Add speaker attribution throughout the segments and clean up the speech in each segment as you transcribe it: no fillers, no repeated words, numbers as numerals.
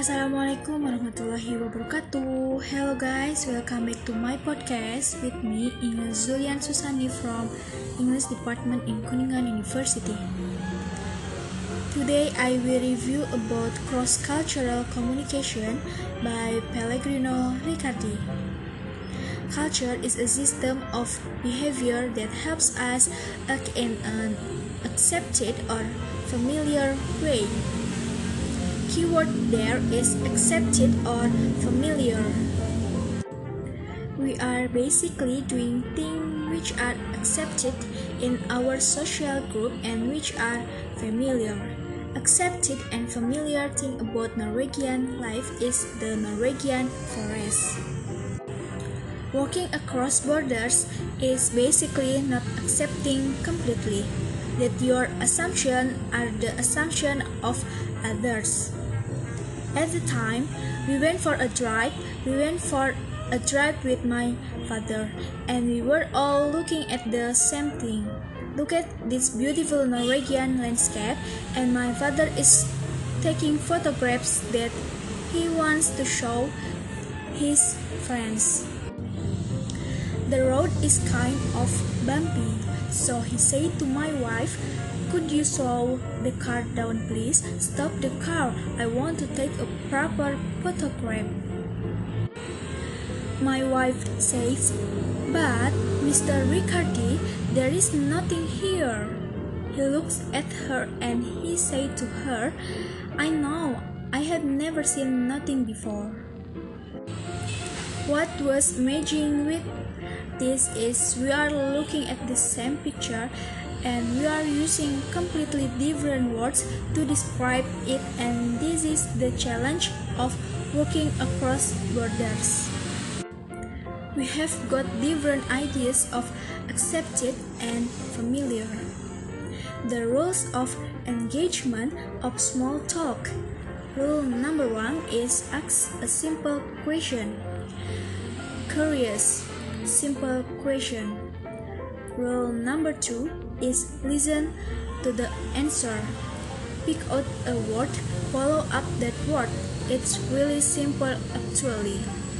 Speaker 1: Assalamualaikum warahmatullahi wabarakatuh. Hello guys, welcome back to my podcast with me, Inge Zulian Susani from English Department in Kuningan University. Today I will review about cross-cultural communication by Pellegrino Riccardi. Culture is a system of behavior that helps us act in an accepted or familiar way. Keyword there is accepted or familiar. We are basically doing things which are accepted in our social group and which are familiar. Accepted and familiar thing about Norwegian life is the Norwegian forest. Walking across borders is basically not accepting completely that your assumptions are the assumption of others. At the time, we went for a drive with my father, and we were all looking at the same thing. Look at this beautiful Norwegian landscape, and my father is taking photographs that he wants to show his friends. The road is kind of bumpy, so he said to my wife, "Could you slow the car down please? Stop the car, I want to take a proper photograph." My wife says, "But Mr. Riccardi, there is nothing here." He looks at her and he said to her, "I know, I have never seen nothing before." What was amazing with this is we are looking at the same picture and we are using completely different words to describe it, and this is the challenge of walking across borders. We have got different ideas of accepted and familiar. The rules of engagement of small talk. Rule number 1 is ask a simple question. Curious, simple question. Rule number 2 is listen to the answer. Pick out a word, follow up that word. It's really simple actually.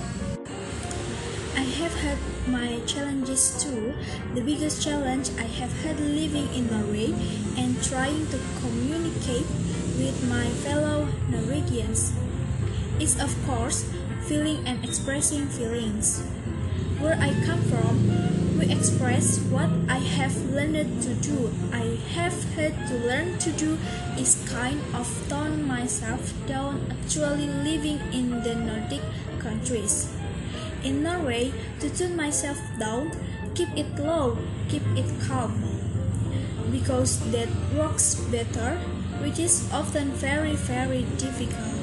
Speaker 1: I have had my challenges too. The biggest challenge I have had living in Norway and trying to communicate with my fellow Norwegians is of course feeling and expressing feelings. Where I come from, we express what I have learned to do. I have had to learn to do is kind of tone myself down actually living in the Nordic countries. In Norway, to tune myself down, keep it low, keep it calm, because that works better, which is often very, very difficult.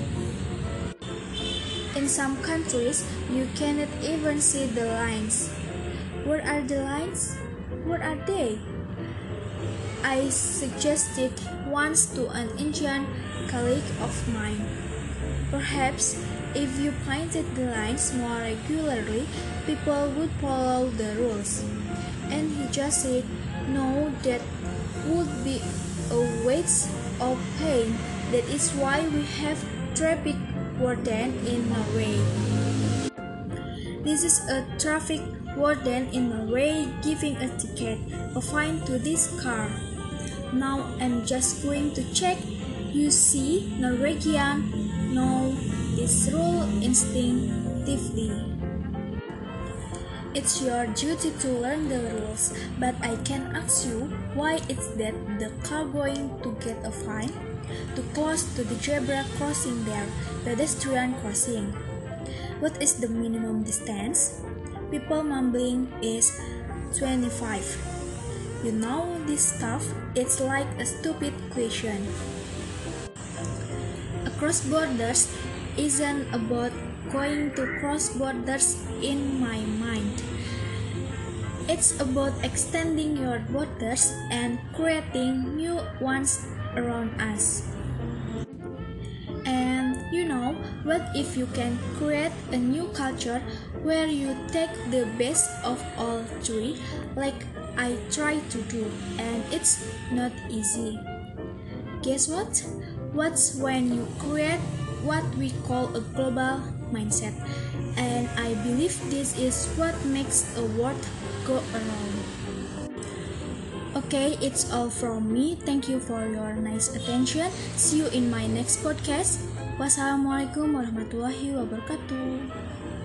Speaker 1: In some countries, you cannot even see the lines. Where are the lines? Where are they? I suggested once to an Indian colleague of mine. Perhaps if you painted the lines more regularly, people would follow the rules. And he just said, "No, that would be a waste of paint. That is why we have traffic warden in Norway." This is a traffic warden in Norway giving a ticket, a fine to this car. Now I'm just going to check. You see, Norwegian know this rule instinctively. It's your duty to learn the rules, but I can ask you why it's that the car going to get a fine? Too close to the zebra crossing there, pedestrian crossing. What is the minimum distance? People mumbling is 25. You know this stuff, it's like a stupid question. Across borders isn't about going to cross borders in my mind. It's about extending your borders and creating new ones around us. And you know, what if you can create a new culture where you take the best of all three, like I try to do, and it's not easy. Guess what? What's when you create what we call a global mindset. And I believe this is what makes a world go around. Okay, it's all from me. Thank you for your nice attention. See you in my next podcast. Wassalamualaikum warahmatullahi wabarakatuh.